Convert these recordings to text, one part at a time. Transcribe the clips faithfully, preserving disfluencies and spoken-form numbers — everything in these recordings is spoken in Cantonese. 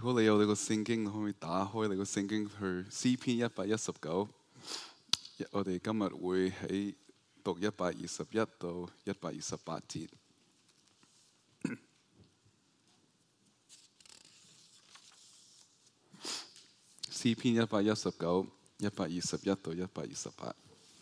如果你有你個聖經，你可唔可以打開你個聖經去詩篇一百一十九？我哋今日會喺讀一百二十一到一百二十八節。詩篇一百一十九、一百二十一到一百二十八。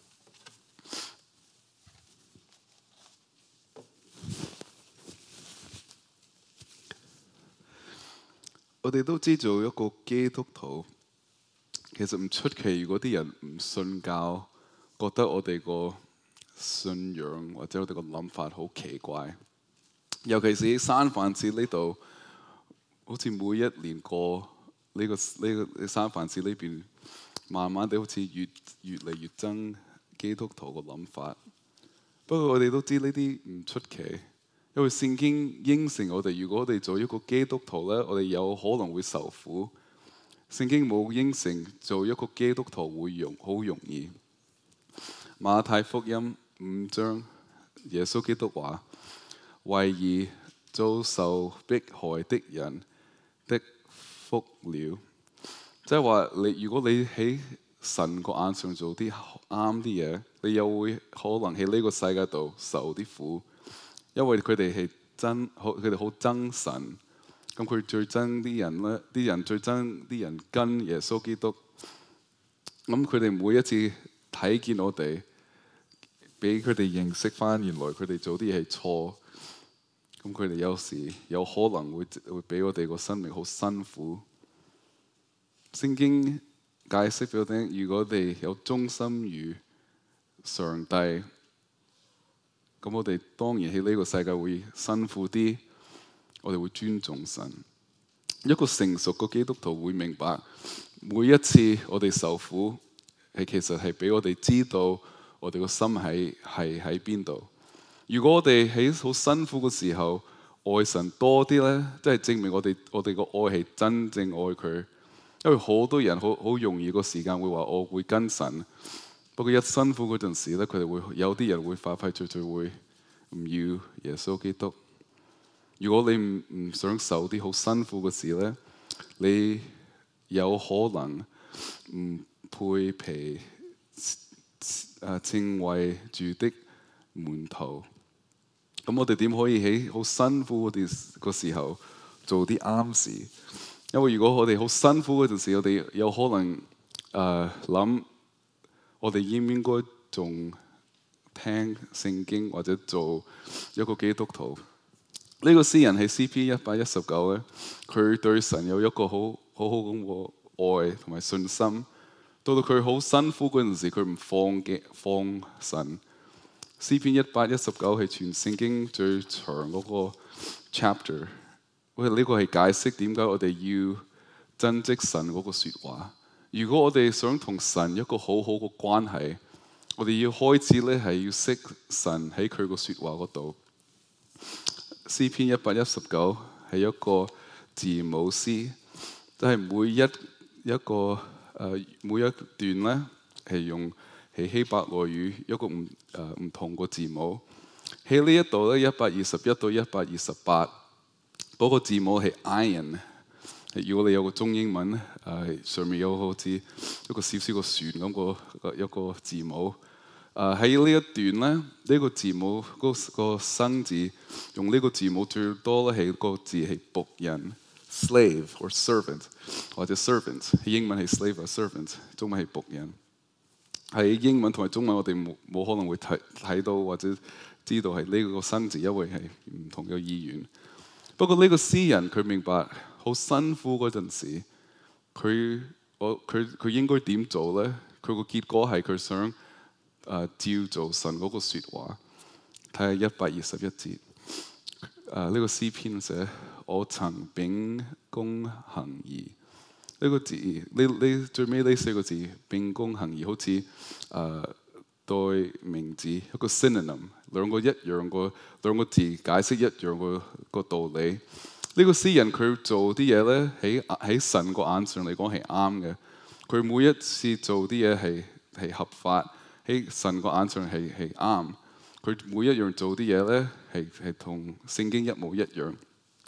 我哋都知做一個基督徒，其實唔出奇。如果啲人唔信教，覺得我哋個信仰或者我哋個諗法好奇怪，尤其是喺三藩市呢度，好似每一年過呢、呢個呢、呢個三藩市呢邊，慢慢地好似越越嚟越憎基督徒個諗法。不過我哋都知呢啲唔出奇。因為聖經應承我哋，如果我哋做一個基督徒咧，我哋有可能會受苦。聖經冇應承做一個基督徒會容好容易。馬太福音五章，耶穌基督話：為義遭受迫害的人的福了。即係話你，如果你喺神個眼上做啲啱啲嘢，你又會可能喺呢個世界度受啲苦。因為佢哋係真，佢哋好憎神，咁佢最憎啲人咧，啲人最憎啲人跟耶穌基督。咁佢哋每一次睇見我哋，俾佢哋認識翻原來佢哋做啲嘢係錯。咁佢哋有時有可能會會俾我哋個生命好辛苦。聖經解釋俾我聽，如果我哋有忠心於上帝，咁我哋當然喺呢個世界會辛苦啲，我哋會尊重神。一個成熟嘅基督徒會明白，每一次我哋受苦，係其實係俾我哋知道我哋個心喺係喺邊度。如果我哋喺好辛苦嘅時候愛神多啲咧，即係證明我哋我哋個愛係真正愛佢。因為好多人好好容易個時間會話我會跟神。不過一辛苦嗰陣時咧，佢哋會有啲人會快快脆脆會唔要耶穌基督。如果你唔唔想受啲好辛苦嘅事咧，你有可能唔配被誒稱為主的門徒。咁我哋點可以喺好辛苦嗰啲個時候做啲啱事？因為如果我哋好辛苦嗰陣時，我哋有可能誒諗。呃我哋應唔應該仲聽聖經或者做一個基督徒？呢、這個詩人係詩篇一百一十九咧，佢對神有一個好好好咁嘅愛同埋信心。到到佢好辛苦嗰陣時，佢唔放嘅放神。詩篇一百一十九係全聖經最長嗰個 chapter。喂，呢個係解釋點解我哋要珍惜神嗰個説話。如果我哋想同神一個好好嘅關係，我哋要開始咧係要識神喺佢個説話嗰度。詩篇一百一十九係一個字母詩，即係每一一個誒、呃、每一段咧係用係希伯來語一個唔誒唔同個字母。喺呢一度咧，一百二十一到一百二十八嗰個字母係 iron。如果你有個中英文咧，誒、呃、上面有好似一個小小個船咁個一個字母。誒喺呢一段咧，呢、這個字母嗰、那個生字用呢個字母最多咧係個字係僕人 slave or servant 或者 servant。英文係 slave or servant， 中文係僕人。喺英文同埋中文我哋冇冇可能會睇睇到或者知道係呢個生字，因為係唔同嘅意願。不過呢個詩人佢明白。好辛苦嗰陣時，佢我佢佢應該點做咧？佢個結果係佢想誒、呃、照做神嗰個説話。睇下一百二十一節，誒、呃、呢、這個詩篇寫：我曾秉公行義。呢、這個字，呢呢最尾呢四個字，秉公行義，好似誒、呃、對名字一個 synonym， 兩個一樣個兩個字解釋一樣個個道理。呢個詩人佢做啲嘢咧，喺喺神個眼上嚟講係啱嘅。佢每一次做啲嘢係係合法，喺神個眼上係係啱。佢每一樣做啲嘢咧係係同聖經一模一樣。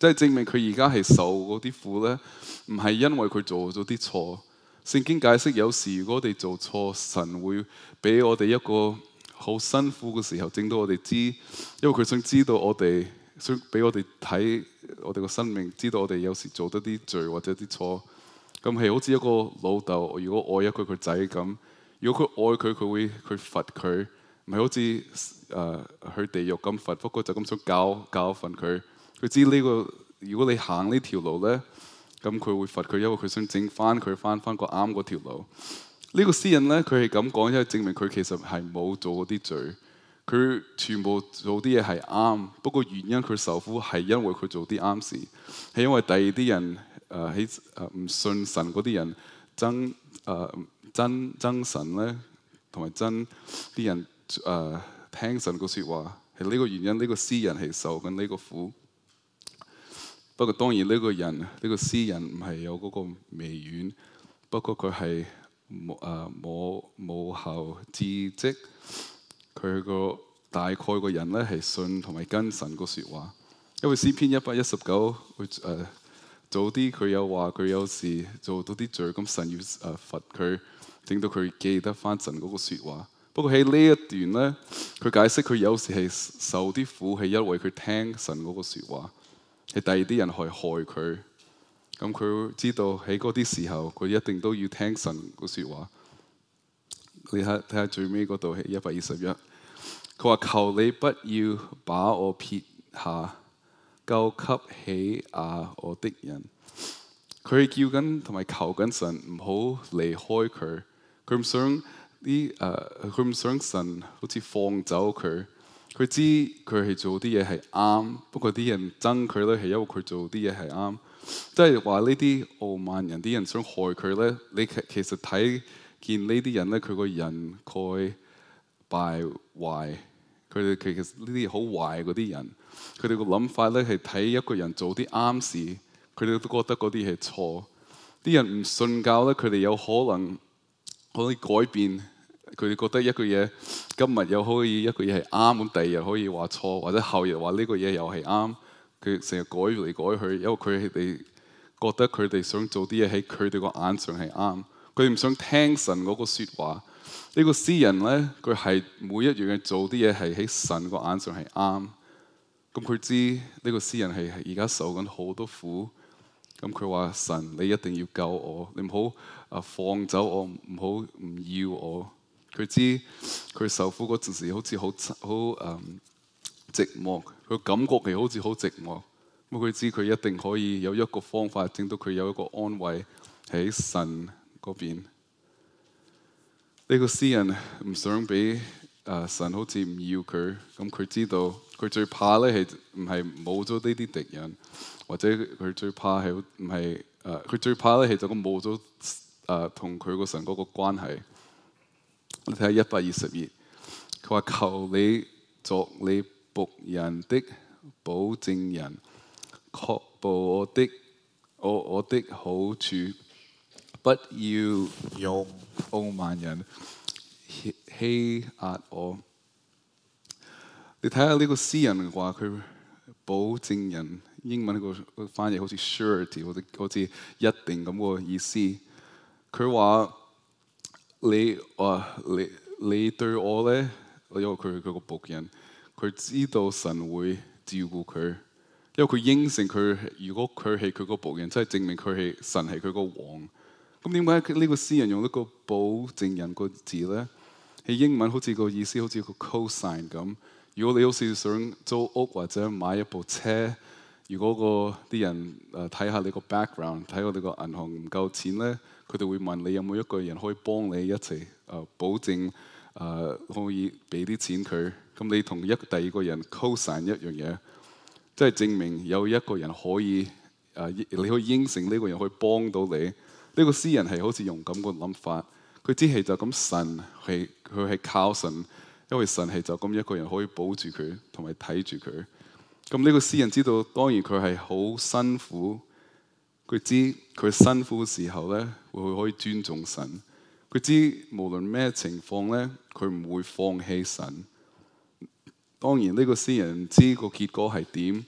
即係證明佢而家係受嗰啲苦咧，唔係因為佢做咗啲錯。聖經解釋有時如果我哋做錯，神會俾我哋一個好辛苦嘅時候，整到我哋知，因為佢想知道我哋，想俾我哋睇我哋個生命，知道我哋有時做得啲罪或者啲錯。咁係好似一個老豆，如果愛一個個仔咁，如果佢愛佢，佢會佢罰佢，唔係好似誒、呃、去地獄咁罰，不過就咁想教教訓佢。佢知呢、這個，如果你行呢條路咧，咁佢會罰佢，因為佢想整翻佢翻翻個啱嗰條路。呢、這個詩人咧，佢係咁講，因為證明佢其實係冇做嗰啲罪，佢全部做啲嘢係啱。不過原因佢受苦係因為佢做啲啱事，係因為第二啲人誒喺誒唔信神嗰啲人憎誒憎憎神咧，同埋憎啲人誒、呃、聽神個説話，係呢個原因。呢、這個詩人係受緊呢個苦。不過當然呢個人呢、呢個詩人唔係有嗰個微軟，不過佢係冇誒冇冇後知識，佢個大概個人咧係信同埋跟神個説話。因為詩篇一百一十九，佢誒早啲佢有話佢有時做到啲罪，咁神要誒、呃、罰佢，整到佢記得翻神嗰個説話。不過喺呢一段咧，佢解釋佢有時係受啲苦係因為佢聽神嗰個説話。係第二啲人去害佢，咁佢知道喺嗰啲時候，佢一定都要聽神個説話。你睇睇下最尾嗰度係一百二十一，佢話求你不要把我撇下，救給欺壓我的人。佢係叫緊同埋求緊神唔好離開佢，佢唔想啲誒，佢唔想神好似放走佢。佢知佢係做啲嘢係啱，不過啲人憎佢咧係因為佢做啲嘢係啱。即係話呢啲傲慢人，啲人想害佢咧，你其其實睇見呢啲人咧，佢個人蓋敗壞，佢哋其實呢啲好壞嗰啲人，佢哋個諗法咧係睇一個人做啲啱事，佢哋都覺得嗰啲係錯。啲人唔信教咧，佢哋有可能可以改變。佢哋覺得一個嘢今日又可以一個嘢係啱，咁第二日可以話錯，或者後日話呢個嘢又係啱。佢成日改嚟改去，因為佢哋覺得佢哋想做啲嘢喺佢哋個眼上係啱，佢哋唔想聽神嗰個説話。呢個詩人咧，佢係每一樣嘢做啲嘢係喺神個眼上係啱。咁佢知呢個詩人係而家受緊好多苦。咁佢話神，你一定要救我，你唔好啊放走我，唔好唔要我。佢知佢受苦嗰陣時好似好好誒寂寞，佢感覺係好似好寂寞。咁佢知佢一定可以有一個方法，整到佢有一個安慰喺神嗰邊。呢、這個詩人唔想俾誒、呃、神好似唔要佢，咁佢知道佢最怕咧係唔係冇咗呢啲敵人，或者佢最怕係唔係誒佢最怕咧係就咁冇咗誒同佢個神嗰個關係。你睇下一百二十二，佢話求你作你僕人的保證人，確保我的我我的好處，不要用傲慢人欺壓我。你睇下呢個詩人話佢保證人，英文個翻譯好似 surety，或者好似一定咁個意思。佢話。你話你你對我咧，因為佢係佢個僕人，佢知道神會照顧佢，因為佢應承佢，如果佢係佢個僕人，即係證明佢係神係佢個王。咁點解呢個詩人用一個保證人個字咧？喺英文好似個意思好似個 cosign 咁。如果你好似想租屋或者買一部車，如果個啲人誒睇下你個 background，睇我哋個銀行唔夠錢咧。佢哋會問你有冇一個人可以幫你一齊誒、呃、保證誒、呃、可以俾啲錢佢，咁你同一第二個人 co-sign 一樣嘢，即係證明有一個人可以誒、呃、你可以應承呢個人可以幫到你。呢、這個詩人係好似用咁個諗法，佢只係就咁神係佢係靠神，因為神係就咁一個人可以保住佢同埋睇住佢。咁呢個詩人知道，當然佢係好辛苦。佢知佢辛苦嘅時候咧，會可以尊重神。佢知無論咩情況咧，佢唔會放棄神。當然呢個詩人知個結果係點，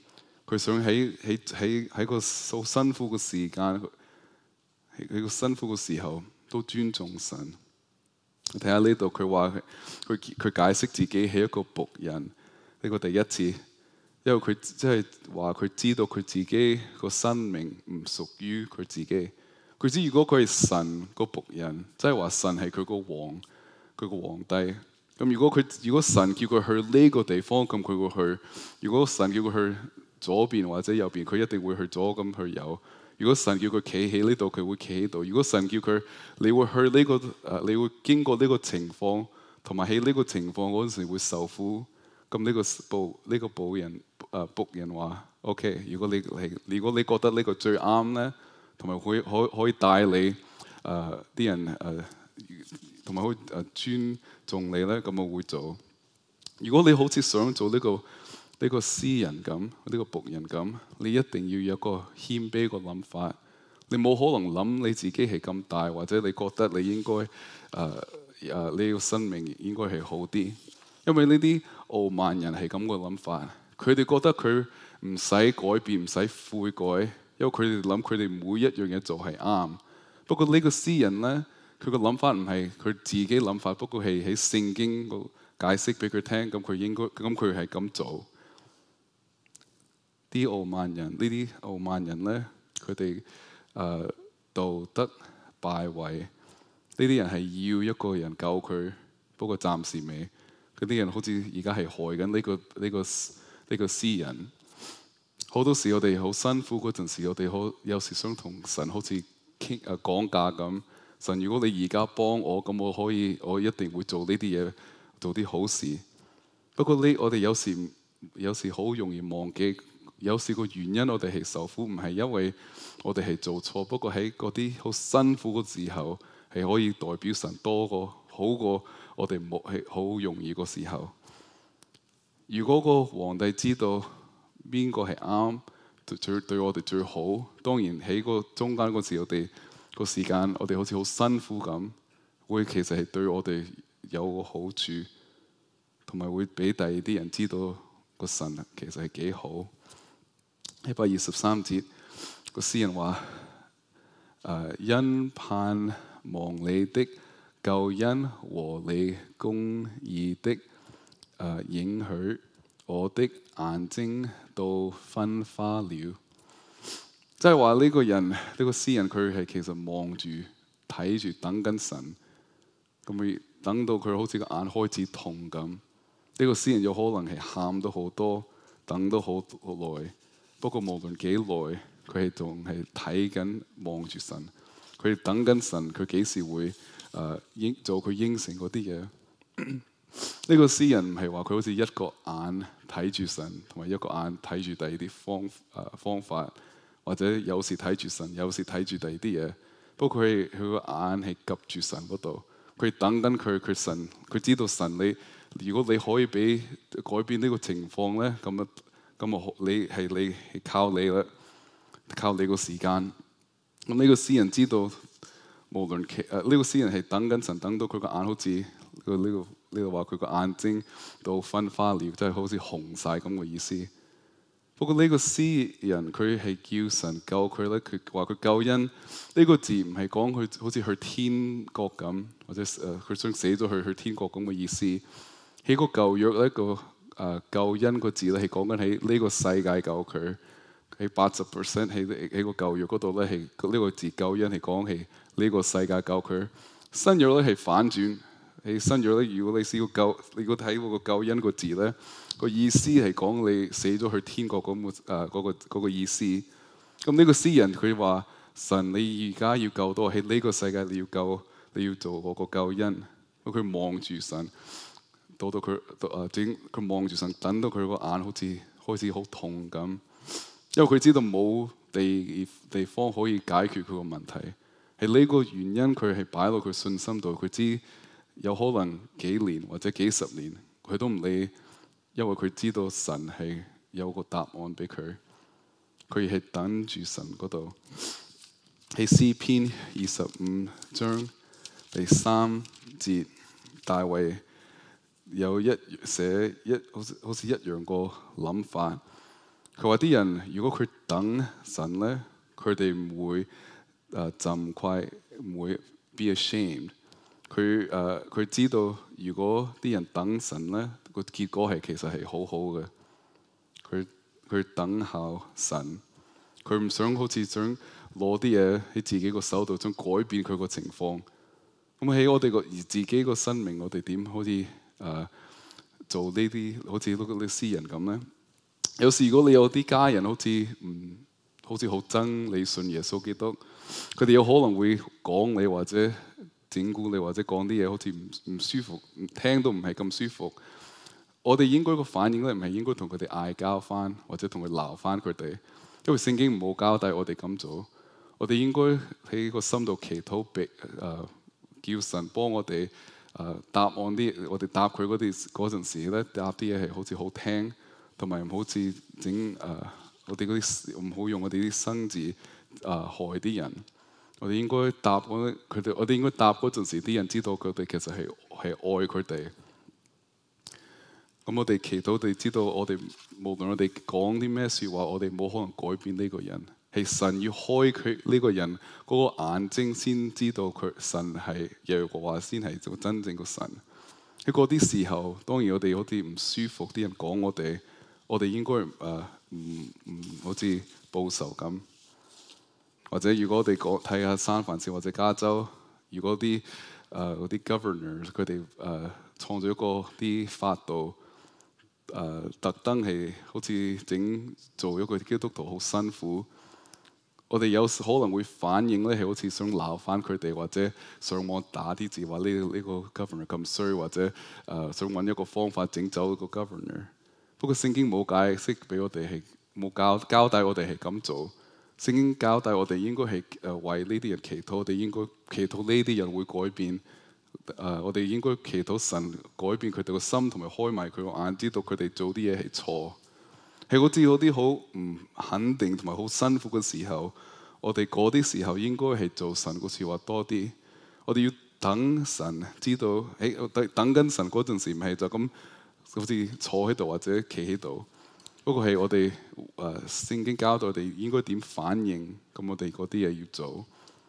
佢想喺喺喺喺個好辛苦嘅時間，喺個辛苦嘅時候都尊重神。睇下呢度，佢話佢佢解釋自己係一個僕人，呢個第一次，因為佢即係話佢知道佢自己個生命唔屬於佢自己。佢知如果佢係神個僕人，即係話神係佢個王，佢個皇帝。咁如果佢如果神叫佢去呢個地方，咁佢會去；如果神叫佢去左邊或者右邊，佢一定會去左咁去右。如果神叫佢企喺呢度，佢會企喺度。如果神叫佢，你會去呢、這個誒、呃，你會經過呢個情況，同埋喺呢個情況嗰陣時會受苦。咁呢個僕呢、這個僕人誒僕人話：，OK，如果你係如果你覺得呢個最啱咧，同埋可以可可以帶你誒啲、呃、人誒，同、呃、埋可以誒尊重你咧，咁我會做。如果你好似想做呢、這個，呢個詩人咁，呢個僕人咁，你一定要有個謙卑個諗法。你冇可能諗你自己係咁大，或者你覺得你應該誒誒呢個生命應該係好啲。因為呢啲傲慢人係咁個諗法，佢哋覺得佢唔使改變，唔使悔改，因為佢哋諗佢哋每一樣嘢做係啱。不過呢個詩人咧，佢個諗法唔係佢自己諗法，不過係喺聖經個解釋俾佢聽，咁佢應該咁佢係咁做。啲傲慢人，呢啲傲慢人咧，佢哋誒道德敗壞，呢啲人係要一個人救佢，不過暫時未。嗰啲人好似而家係害緊呢個呢個呢個詩人。好多時我哋好辛苦嗰陣時，我哋好有時想同神好似傾誒講價咁。神，如果你而家幫我，咁我可以，我一定會做呢啲嘢，做啲好事。不過呢，我哋有時有時好容易忘記。有時個原因，我哋係受苦，唔係因為我哋係做錯，不過喺嗰啲好辛苦嘅時候，係可以代表神多過好過我哋冇係好容易個時候。如果個皇帝知道邊個係啱，最對我哋最好，當然喺個中間嗰時，我哋個時間，我哋好似好辛苦咁，會其實係對我哋有個好處，同埋會俾第二啲人知道個神其實係幾好。一百二十三節，個詩人話：誒、呃，因盼望你的救恩和你公義的誒、呃、應許，我的眼睛都昏花了。即係話呢個人，呢、這個詩人，佢係其實望住、睇住、等緊神，咁佢等到佢好似個眼開始痛咁。呢、這個詩人有可能係喊到好多，等到好耐。不過無論幾耐，佢係仲係睇緊望住神，佢等緊神，佢幾時會誒應、呃、做佢應承嗰啲嘢？呢個詩人唔係話佢好似一個眼睇住神，同埋一個眼睇住第二啲方誒、呃、方法，或者有時睇住神，有時睇住第二啲嘢。不過佢佢個眼係及住神嗰度，佢等緊佢佢神，佢知道神你，如果你可以俾改變呢個情況咧，咁啊〜咁啊，你係你係靠你啦，靠你個時間。咁呢個詩人知道，無論其誒呢個詩人係等緊神，等到佢個眼好似呢個呢個話佢個眼睛都昏花了，即係好似紅晒咁嘅意思。不過呢個詩人佢係叫神救佢咧，佢話佢救恩呢個字唔係講佢好似去天國咁，或者誒佢想死咗去去天國咁嘅意思。喺個舊約呢個。誒、uh, 救恩個字咧係講緊喺呢個世界救佢，喺八十 percent 喺喺個舊約嗰度咧係呢個字救恩係講係呢個世界救佢。新約咧係反轉，喺新約咧如果你試過救，你如果睇嗰個救恩個字咧，個意思係講你死咗去天國咁嘅誒嗰個嗰個意思。咁呢個詩人佢話：神你而家要救到喺呢個世界，你要救你要做嗰個救恩。咁佢望住神。到到佢誒整，佢望住神，等到佢個眼好似開始好痛咁，因為佢知道冇地地方可以解決佢個問題，係呢個原因佢係擺落佢信心度。佢知有可能幾年或者幾十年，佢都唔理，因為佢知道神係有個答案俾佢，佢係等住神嗰度。喺詩篇二十五章第三節，大衛。有一寫一好似好似一樣個諗法， 佢話啲人如果佢等神咧，佢哋唔會誒浸愧，唔會 be ashamed。佢誒佢知道，如果啲人等神咧，個結果係其實係好好嘅。佢佢等候神，佢唔想好似想攞啲嘢喺自己個手度，想改變佢個情況。咁喺我哋個而自己個生命，我哋點好似誒、呃、做呢啲好似嗰啲詩人咁咧？有時如果你有啲家人好似唔好似好憎你信耶穌基督，佢哋有可能會講你或者整蠱你或者講啲嘢好似唔唔舒服，聽都唔係咁舒服。我哋應該個反應咧，唔係應該同佢哋嗌交翻，或者同佢鬧翻佢哋，因為聖經唔好交代我哋咁做。我哋應該喺個心度祈禱，俾誒叫神幫我哋誒、呃、答案啲，我哋答佢嗰啲嗰陣時咧，答啲嘢係好似好聽。同埋唔好似整誒，我哋嗰啲唔好用我哋啲生字誒、呃、害啲人。我哋應該答嗰佢哋，我哋應該答嗰陣時，啲人知道佢哋其實係係愛佢哋。咁我哋祈禱，我哋知道我哋無論我哋講啲咩説話，我哋冇可能改變呢個人。係神要開佢呢個人嗰個眼睛，先知道佢神係耶和華，先係做真正個神。喺嗰啲時候，當然我哋好似唔舒服，啲人講我哋。我哋應該誒唔唔好似報仇咁，或者如果我哋講睇下三藩市或者加州，如果啲誒嗰啲 governor 佢哋誒創造一個啲法度誒、呃、特登係好似整做一個基督徒好辛苦，我哋有時可能會反應咧係好似想鬧翻佢哋，或者上網打啲字話呢呢個 governor 咁衰，或者誒、呃、想揾一個方法整走一個 governor。不過聖經冇解釋俾我哋係冇交交代我哋係咁做。聖經交代我哋應該係誒為呢啲人祈禱，我哋應該祈禱呢啲人會改變。誒、呃，我哋應該祈禱神改變佢哋個心，同埋開埋佢個眼，知道佢哋做啲嘢係錯。係好似嗰啲好唔肯定同埋好辛苦嘅時候，我哋嗰啲時候應該係做神個説話多啲。我哋要等神知道，誒等等緊神嗰陣時，唔係就咁。好似坐喺度或者企喺度，不過係我哋誒聖經教導我哋應該點反應，咁我哋嗰啲嘢要做。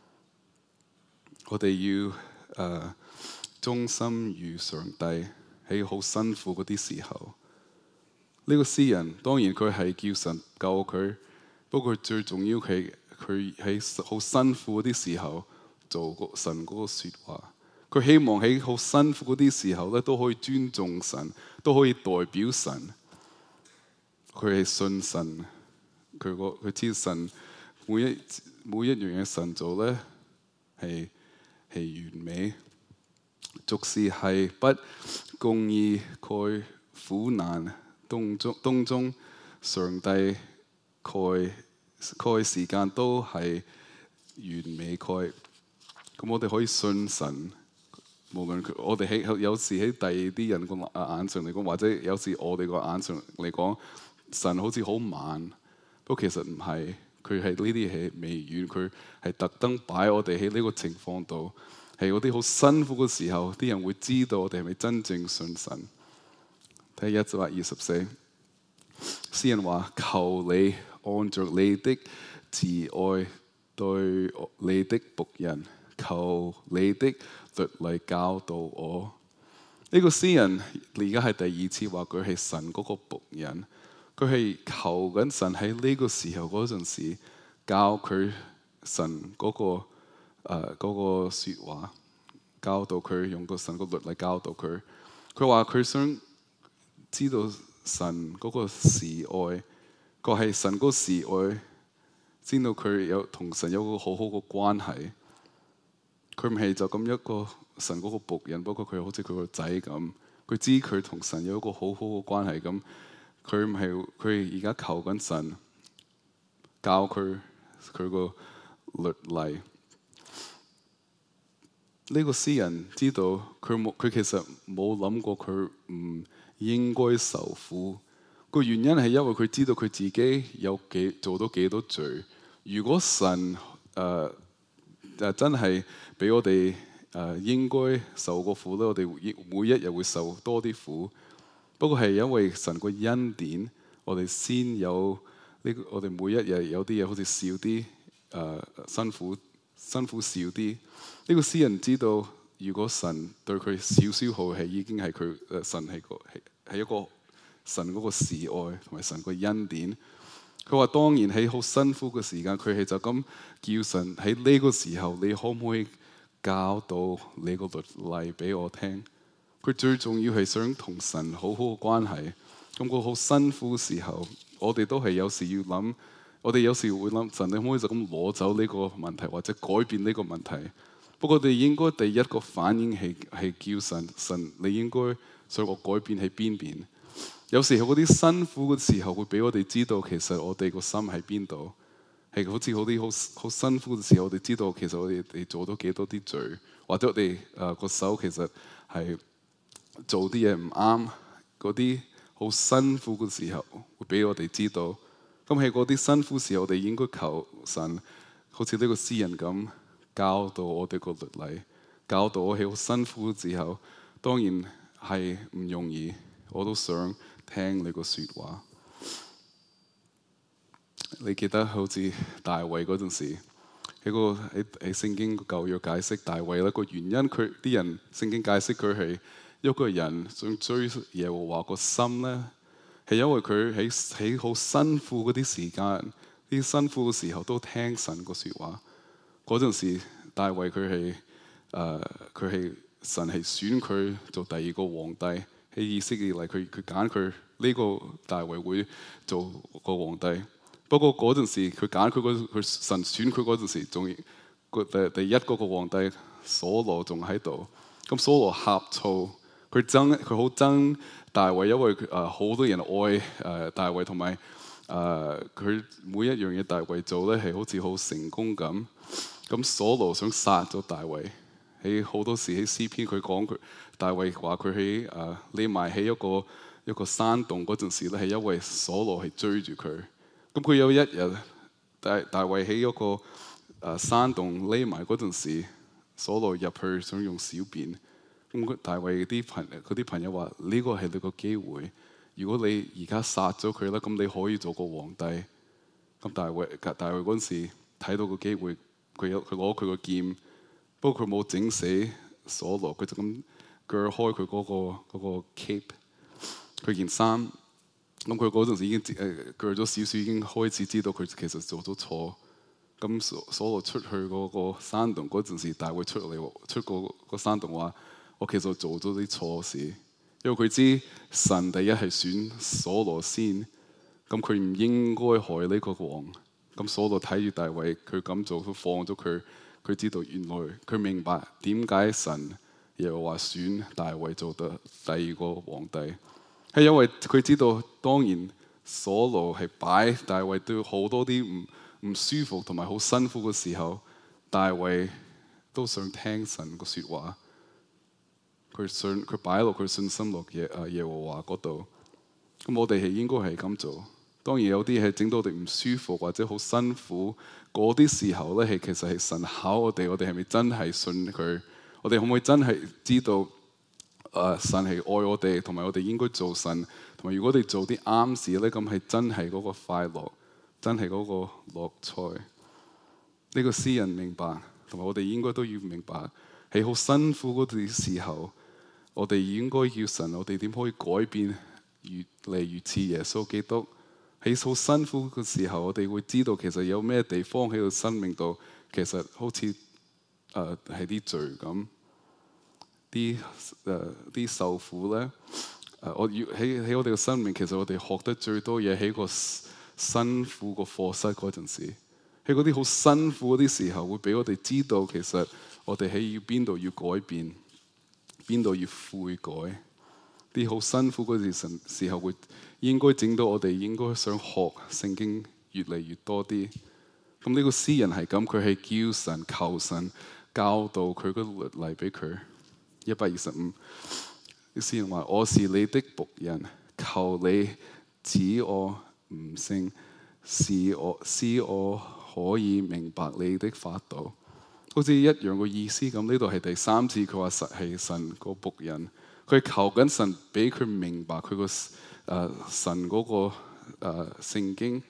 我哋要誒、呃、忠心於上帝喺好辛苦嗰啲時候。呢、這個詩人當然佢係叫神救佢，不過最重要係佢喺好辛苦嗰啲時候做個神嗰個説話。佢希望喺好辛苦嗰啲時候咧，都可以尊重神，都可以代表神。佢係信神，佢個佢知神每一每一樣嘢神做咧係係完美。俗事係不公義，蓋苦難當中當中，上帝蓋蓋時間都係完美蓋。咁我哋可以信神。無論佢，我哋喺有時喺第二啲人個眼上嚟講，或者有時我哋個眼上嚟講，神好似好慢，不過其實唔係，佢係呢啲係微軟，佢係特登擺我哋喺呢個情況度，係嗰啲好辛苦嘅時候，啲人會知道我哋係咪真正信神。睇一百二十四，詩人話：求你按着你的慈愛對你的僕人，求你的律例教導我。呢、這個詩人而家係第二次話佢係神嗰個僕人，佢係求緊神喺呢個時候嗰陣時教佢神嗰、那個誒嗰、呃那個説話，教導佢用個神個律例教導佢。佢話佢想知道神嗰個慈愛，佢係神嗰個慈愛，知道佢有同神有個好好嘅關係。佢唔係就咁一個神嗰個僕人，不過佢好似佢個仔咁。佢知佢同神有一個好好嘅關係咁。佢唔係佢而家求緊神教佢佢個律例。呢、這個詩人知道佢冇佢其實冇諗過佢唔應該受苦。個原因係因為佢知道佢自己有幾做到幾多罪。如果神誒、呃誒真係俾我哋誒、呃、應該受個苦咧，我哋每一日會受多啲苦。不過係因為神個恩典，我哋先有呢個我哋每一日有啲嘢好似少啲，誒、呃、辛苦辛苦少啲。呢、這個詩人知道，如果神對佢少少好，係已經係佢誒神係個係係一個神嗰個示愛同埋神個恩典。佢話當然喺好辛苦嘅時間，佢係就咁叫神喺呢個時候，你可唔可以教導你個律例俾我聽？佢最重要係想同神好好嘅關係。咁個好辛苦嘅時候，我哋都係有時要諗，我哋有時會諗神，你可唔可以就咁攞走呢個問題，或者改變呢個問題？不過我哋應該第一個反應係係叫神，神你應該想我改變喺邊邊？有時候嗰啲辛苦嘅時候，會俾我哋知道其實我哋個心喺邊度。係好似嗰啲好好辛苦嘅時候，我哋知道其實我哋哋做咗幾多啲罪，或者我哋誒個手其實係做啲嘢唔啱。嗰啲好辛苦嘅時候，會俾我哋知道。咁喺嗰啲辛苦時候，我哋應該求神，好似呢個詩人咁，教導我哋個律例，教導我喺好辛苦嘅時候。當然係唔容易，我都想聽你個説話。你記得好似大衛嗰陣時，喺個喺喺聖經舊約解釋大衛咧個原因，佢啲人聖經解釋佢係一個人想追耶和華個心咧，係因為佢喺喺好辛苦嗰啲時間，啲辛苦嘅時候都聽神個説話。嗰陣時大衛佢係誒佢係神係選佢做第二個皇帝，喺以色列嚟，佢佢揀佢呢個大衛會做個皇帝。不過嗰陣時佢揀佢嗰佢神選佢嗰陣時，仲個第第一嗰個皇帝所羅仲喺度。咁所羅呷醋，佢憎佢好憎大衛，因為誒好、呃、多人愛誒、呃、大衛，同埋誒佢每一樣嘢大衛做咧係好似好成功咁。咁所羅想殺咗大衛。喺好多時喺詩篇佢講佢大衛話佢喺誒匿埋喺一個一個山洞嗰陣時咧，係因為所羅係追住佢。咁佢有一日大大衛喺一個誒、呃、山洞匿埋嗰陣時，所羅入去想用小便。咁大衛啲朋佢啲朋友話：呢、這個係你個機會，如果你而家殺咗佢咧，咁你可以做個皇帝。咁大衛大衛嗰陣時睇到個機會，佢有佢攞佢個劍，不過佢冇整死所羅，佢就咁鋸開佢嗰、那個那個 cape， 佢件衫。咁佢嗰陣時已經誒鋸咗少少，已經開始知道佢其實做咗錯。咁所所羅出去嗰個山洞嗰陣時，大衛出嚟出個個山洞話：我其實做咗啲錯事，因為佢知神第一係選所羅先，咁佢唔應該害呢個王。咁所羅睇住大衛佢咁做，都放咗佢。佢知道原來佢明白點解神又話選大衛做得第二個皇帝。係因為佢知道，當然所羅係擺大衛都好多啲唔唔舒服同埋好辛苦嘅時候，大衛都想聽神個説話。佢信佢擺落佢信心落耶啊耶和華嗰度。咁我哋係應該係咁做。當然有啲係整到我哋唔舒服或者好辛苦嗰啲時候咧，係其實係神考我哋，我哋係咪真係信佢？我哋可唔可以真係知道？誒、uh, 神係愛我哋，同埋我哋應該做神，同埋如果我哋做啲啱事咧，咁係真係嗰個快樂，真係嗰個樂彩。呢、這個詩人明白，同埋我哋應該都要明白，喺好辛苦嗰段時候，我哋應該要神，我哋點可以改變越嚟越似耶穌基督？喺好辛苦嘅時候，我哋會知道其實有咩地方喺個生命度，其實好似誒係啲罪咁。啲誒啲受苦咧，誒、呃、我要喺喺我哋嘅生命，其實我哋學得最多嘢喺個辛苦個課室嗰陣時，喺嗰啲好辛苦嗰啲時候，會俾我哋知道其實我哋喺要邊度要改變，邊度要悔改。啲好辛苦嗰陣時候會應該整到我哋應該想學聖經越嚟越多啲。咁呢個詩人係咁，佢係叫神求神教導佢個律例俾佢。一百二十五，啲詩人話：我是你的僕人，求你指我悟性，使我使我可以明白你的法度。好似一樣個意思咁。呢度係第三次佢話實係神個僕人，佢求緊神俾佢明白佢個誒神嗰個誒聖經，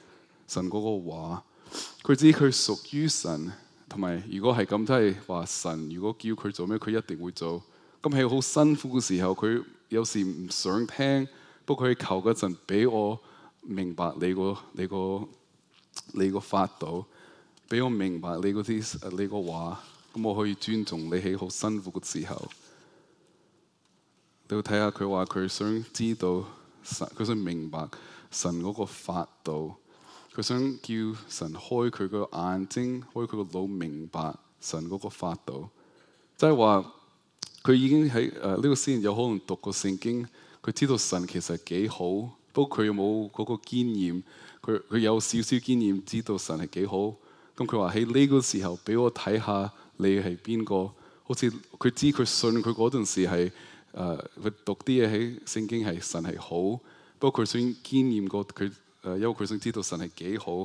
神嗰個話，佢知佢屬於神，同埋如果係咁，都係話神如果叫佢做咩，佢一定會做。咁喺好辛苦嘅時候，佢有時唔想聽，不過佢求嗰陣俾我明白你個你個你個法度，俾我明白你嗰啲你個話，咁我可以尊重你喺好辛苦嘅時候。你要睇下佢話佢想知道神，佢想明白神嗰個法度，佢想叫神開佢個眼睛，開佢個腦，明白神嗰個法度。即係話佢已經喺誒呢個詩人有可能讀過聖經，佢知道神其實幾好，不過佢又冇嗰個經驗，佢佢有少少經驗，知道神係幾好。咁佢話喺呢個時候俾我睇下你係邊個，好似佢知佢信佢嗰陣時係。誒佢、uh, 讀啲嘢喺聖經係神係好，不過佢想經驗過佢誒，因為佢想知道神係幾好。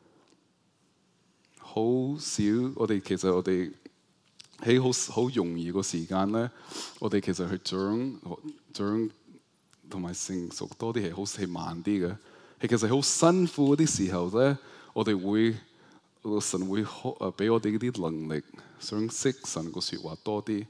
好少我哋其實我哋喺好好容易個時間咧，我哋其實去長長同埋成熟多啲係好係慢啲嘅。係其實好辛苦嗰啲時候咧，我哋會神會誒俾我哋嗰啲能力，想識神個説話多啲。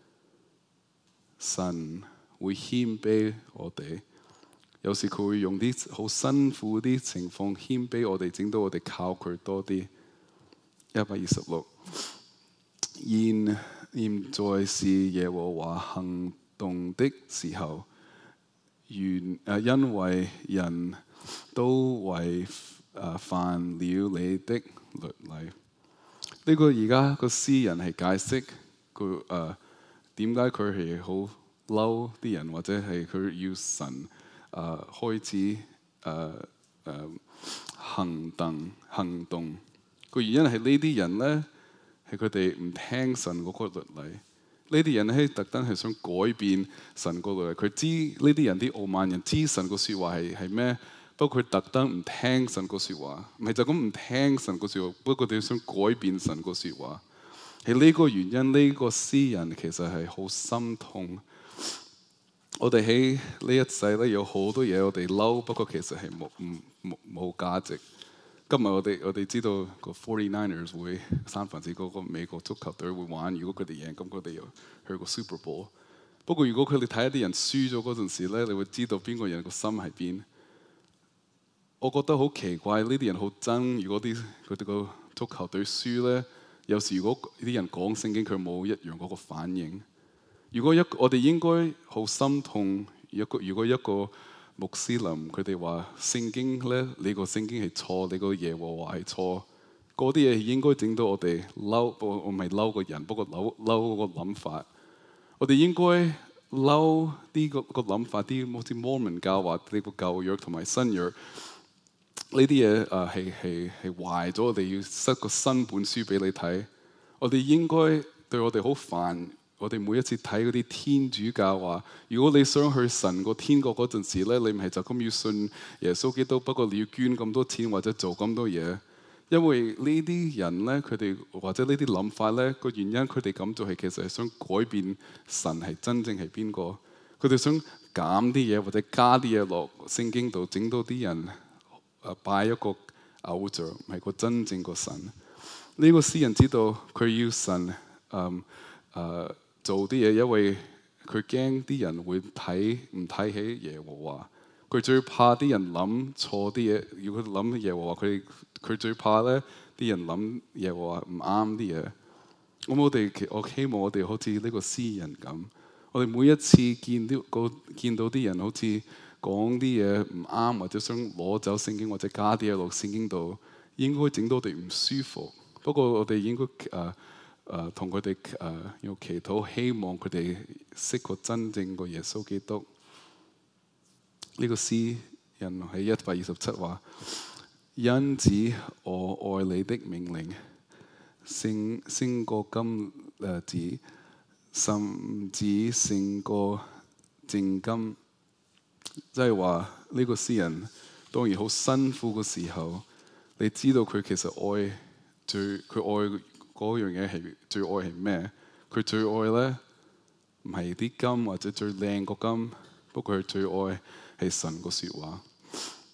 神會謙卑我哋，有時佢會用啲好辛苦啲情況謙卑我哋，整到我哋靠佢多啲。一百二十六，現現在是耶和華行動的時候，原誒因為人都違誒犯了你的律例。呢個而家個詩人係解釋佢誒。呃點解佢係好嬲啲人，或者係佢要神誒、呃、開始誒誒、呃呃、行動行動？個原因係呢啲人咧，係佢哋唔聽神嗰個律例。呢啲人咧特登係想改變神個律例。佢知呢啲人啲傲慢人知神個説話係係咩？不過佢特登唔聽神個説話，唔係就咁唔聽神個説話。不過佢哋想改變神個説話。係呢個原因，呢、這個詩人其實係好心痛。我哋喺呢一世咧有好多嘢我哋嬲，不過其實係冇唔冇冇價值。今日我哋我哋知道個 Forty Niners 會三藩市嗰個美國足球隊會玩，如果佢哋贏，咁佢哋又去個 Super Bowl。不過如果佢哋睇一啲人輸咗嗰陣時咧，你會知道邊個人個心喺邊。我覺得好奇怪，呢啲人好憎，如果啲佢哋個足球隊輸咧。有時如果啲人講聖經，佢冇一樣嗰個反應。如果一我哋應該好心痛，一個如果一個穆斯林佢哋話聖經咧，你個聖經係錯，你個耶和華係錯，嗰啲嘢應該整到我哋嬲。我我唔係嬲個人，不過嬲嬲嗰個諗法。我哋應該嬲啲個個諗法，啲好似摩門教話呢個舊約同埋新約。呢啲嘢誒係係係壞咗，我哋要塞個新本書俾你睇。我哋應該對我哋好煩。我哋每一次睇嗰啲天主教話，如果你想去神個天國嗰陣時咧，你唔係就咁要信耶穌基督，不過你要捐咁多錢或者做咁多嘢。因為呢啲人咧，佢哋或者呢啲諗法咧，個原因佢哋咁做係其實係想改變神係真正係邊個。佢哋想減啲嘢或者加啲嘢落聖經度，整到啲人。誒拜一個偶像，唔係個真正個神。呢、這個詩人知道佢要神誒誒、嗯呃、做啲嘢，因為佢驚啲人會睇唔睇起耶和華。佢最怕啲人諗錯啲嘢。如果諗耶和華，佢佢最怕咧啲人諗耶和華唔啱啲嘢。咁我哋我希望我哋好似呢個詩人咁，我哋每一次見到個見到啲人好似。講啲嘢唔啱，或者想攞走聖經，或者加啲嘢落聖經度，應該整到我哋唔舒服。不過我哋應該誒誒同佢哋誒用祈禱，希望佢哋識個真正個耶穌基督。呢、這個詩人喺一百二十七話：因此我愛你的命令，勝勝過金誒子，甚至勝過正金。即係話呢個詩人當然好辛苦嘅時候，你知道佢其實愛最佢愛嗰樣嘢係最愛係咩？佢最愛咧唔係啲金或者最靚個金，不過佢最愛係神個説話。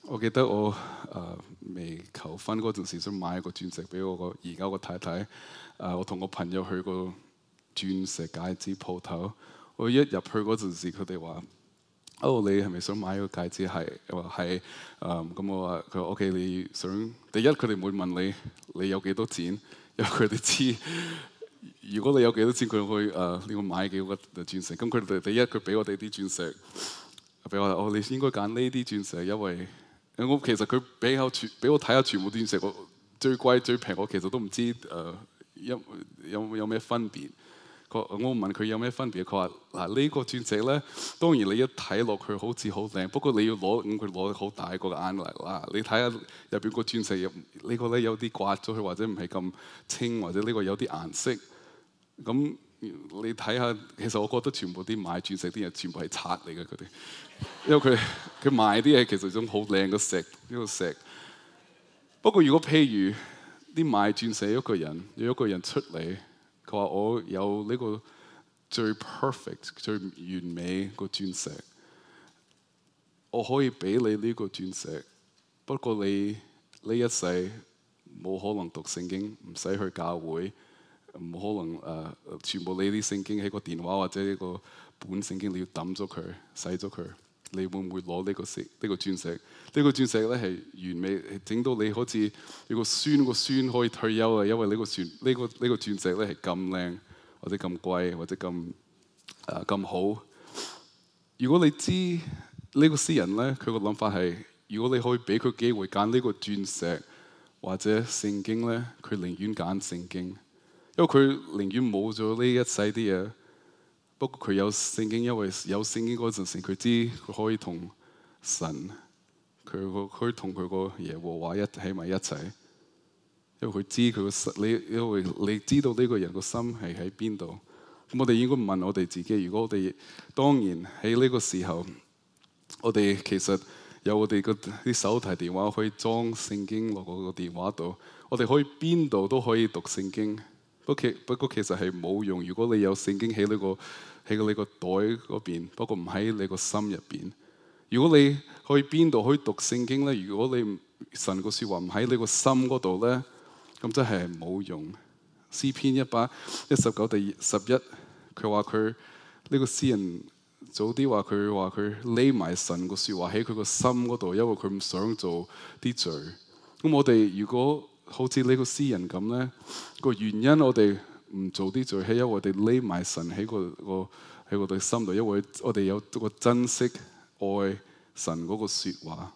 我記得我誒、呃、未求婚嗰陣時，想買一個鑽石俾我個而家個太太。誒、呃，我同我朋友去個鑽石戒指鋪頭，我一入去嗰陣時，佢哋話：哦，你係咪想買個戒指？係，我話係。誒、嗯，咁我話佢話 OK，你想第一佢哋會問你你有幾多錢，因為佢哋知如果你有幾多錢，佢會誒你會買幾個鑽石。咁佢哋第一佢俾我哋啲鑽石，俾我話哦，你應該揀呢啲鑽石，因為我其實佢俾我全俾我睇下全部鑽石，我最貴最平，我其實都唔知誒、呃、有有有咩分別。我問佢有咩分別，佢話嗱呢個鑽石咧，當然你一睇落去好似好靚，不過你要攞咁佢攞好大個眼嚟啦。你睇下入邊個鑽石入、這個、呢個咧有啲刮咗佢，或者唔係咁清，或者呢個有啲顏色。咁你睇下，其實我覺得全部啲買鑽石啲人全部係賊嚟嘅佢哋，因為佢佢賣啲嘢其實種好靚嘅石呢個石。不過如果譬如啲買鑽石一個人有一個人出嚟。佢話：我有呢個最 perfect、最完美個鑽石，我可以俾你呢個鑽石。不過你呢一世冇可能讀聖經，唔使去教會，冇可能誒、呃、全部你啲聖經喺個電話或者呢個本聖經你要抌咗佢、洗咗佢。你會唔會攞呢個石、呢個鑽石？呢個鑽石咧係完美，整到你好似你個孫個孫可以退休啊！因為呢個鑽呢個呢個鑽石咧係咁靚，或者咁貴，或者咁誒咁好。如果你知呢個詩人咧，佢個諗法係：如果你可以俾佢機會揀呢個鑽石或者聖經咧，佢寧願揀聖經，因為佢寧願冇咗呢一世啲嘢。不過佢有聖經，因為有聖經嗰陣時，佢知佢可以同神，佢個可以同佢個耶和華一喺埋一齊。因為佢知佢個心，你因為你知道呢個人個心係喺邊度。咁我哋應該問我哋自己：如果我哋當然喺呢個時候，我哋其實有我哋個啲手提電話可以裝聖經落嗰個電話度，我哋可以邊度都可以讀聖經。不過不過其實係冇用。如果你有聖經喺呢個喺你個袋嗰邊，不過唔喺你個心入邊。如果你去邊度可以讀聖經咧？如果你神個説話唔喺你個心嗰度咧，咁真係冇用。詩篇一百一十九第十一，佢話佢呢個詩人早啲話佢話佢匿埋神個説話喺佢個心嗰度，因為佢唔想做啲罪。咁我哋如果好似呢個詩人咁咧，個原因我哋唔做啲罪，係因為我哋匿埋神喺個個喺我哋心度，因為我哋有個珍惜愛神嗰個説話。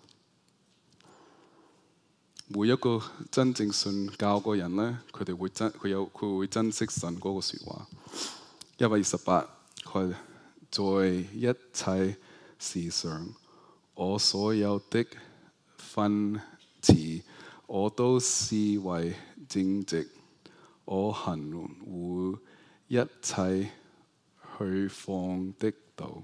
每一個真正信教個人咧，佢哋會珍佢有佢會珍惜神嗰個説話。一百二十八，佢在一切事上，我所有的訓詞，我都視為正直。我行護一切去放的道。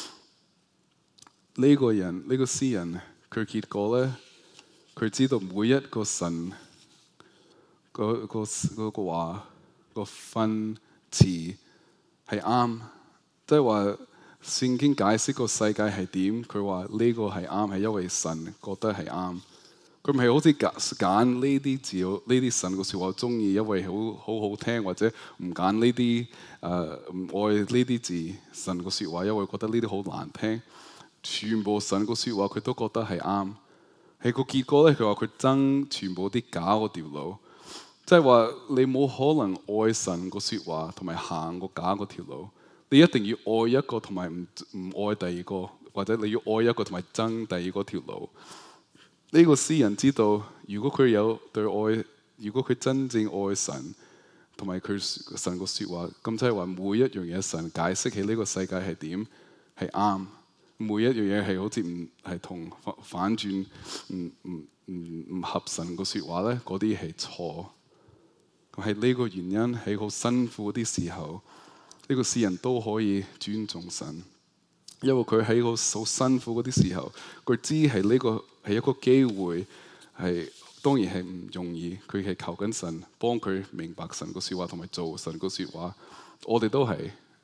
呢、這個人呢、這個詩人，佢結果咧，佢知道每一個神嗰、那個嗰、那個話、那個訓詞係啱，即係話聖經解釋個世界係點，佢話呢個係啱，係因為神覺得係啱。佢唔係好似揀揀呢啲字，呢啲神個説話中意，因為好好好聽，或者唔揀呢啲誒唔愛呢啲字神個説話，因為覺得呢啲好難聽。全部神個説話佢都覺得係啱。係個結果咧，佢話佢憎全部啲假嗰條路，即係話你冇可能愛神個説話同埋行個假嗰條路。你一定要愛一個同埋唔唔愛第二個，或者你要愛一個同埋憎第二個條路。呢個詩人知道，如果佢有對愛，如果佢真正愛神同埋佢神個説話，咁即係話每一樣嘢神解釋起呢個世界係點係啱，每一樣嘢係好似唔係同反轉唔唔唔唔合神個説話咧，嗰啲係錯。係呢個原因喺好辛苦啲時候，呢個詩人都可以尊重神。因為佢喺個好辛苦嗰啲時候，佢知係呢個係一個機會，係當然係唔容易。佢係求緊神幫佢明白神個説話同埋做神個説話。我哋都係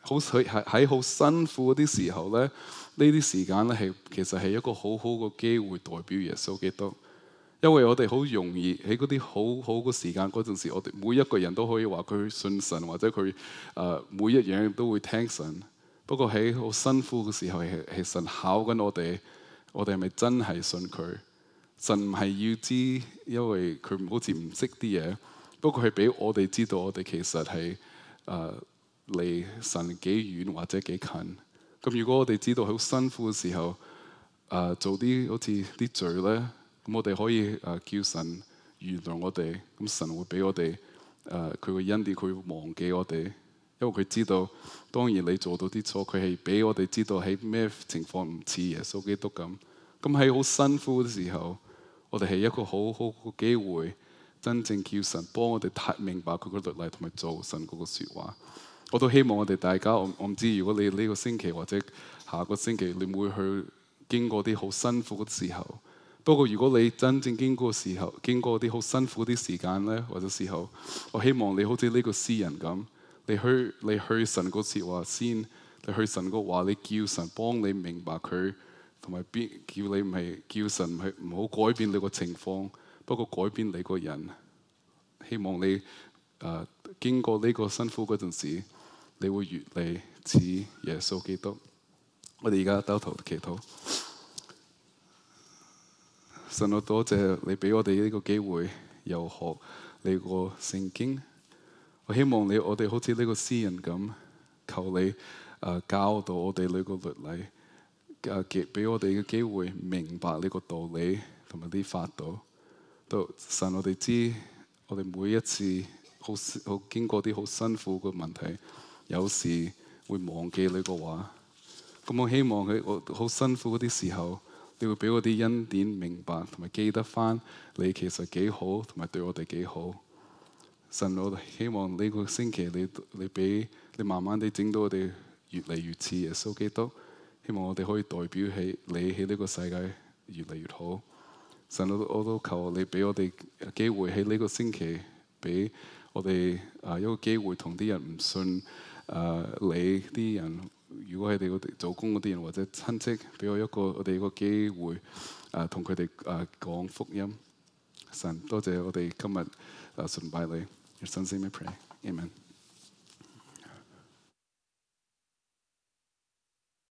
好喺喺好辛苦嗰啲時候咧，呢啲時間咧係其實係一個好好嘅機會代表耶穌基督。因為我哋好容易喺嗰啲好好嘅時間嗰陣時，我哋每一個人都可以話佢信神，或者佢誒、呃、每一樣都會聽神。不過喺好辛苦嘅時候，係係神考緊我哋，我哋係咪真係信佢？神唔係要知，因為佢好似唔識啲嘢。不過係俾我哋知道，我哋其實係誒離神幾遠或者幾近。咁如果我哋知道好辛苦嘅時候，誒、呃、做啲好似啲罪咧。咁我哋可以誒、呃、叫神原諒我哋，咁神會俾我哋誒佢嘅恩典，佢會忘記我哋，因為佢知道，當然你做到啲錯，佢係俾我哋知道喺咩情況唔似耶穌基督咁。咁喺好辛苦嘅時候，我哋係一個好好嘅機會，真正叫神幫我哋睇明白佢嘅律例同埋做神嗰個説話。我都希望我哋大家，我我唔知如果你呢個星期或者下個星期，你會去經過啲好辛苦嘅時候。不過如果你真正經過時候，經過啲好辛苦啲時間咧，或者時候，我希望你好似呢個詩人咁，你去你去神個説話先，你去神個話，你叫神幫你明白佢，同埋邊叫你唔係叫神係唔好改變你個情況，不過改變你個人。希望你誒、呃、經過呢個辛苦嗰陣時，你會越嚟似耶穌基督。我哋而家兜頭祈禱。神，我多謝你俾我哋呢個機會，又學你個聖經。我希望你我哋好似呢個詩人咁，求你誒、呃、教導我哋呢個律例，誒給俾我哋嘅機會明白呢個道理同埋啲法度。都神，我哋知我哋每一次好好經過啲好辛苦嘅問題，有時會忘記你個話。咁我希望喺我好辛苦嗰啲時候，你會俾我啲恩典明白，同埋記得翻你其實幾好，同埋對我哋幾好。神，我希望呢個星期你你俾你慢慢地整到我哋越嚟越似耶穌基督。希望我哋可以代表起你喺呢個世界越嚟越好。神，我都我都求你俾我哋機會喺呢個星期，俾我哋啊一個機會同啲人唔信啊你啲人。如果係哋我哋做工嗰啲人或者親戚，俾我一個我哋一個機會，誒同佢哋誒講福音。神，多謝我哋今日誒崇拜你，神聖名 pray，amen。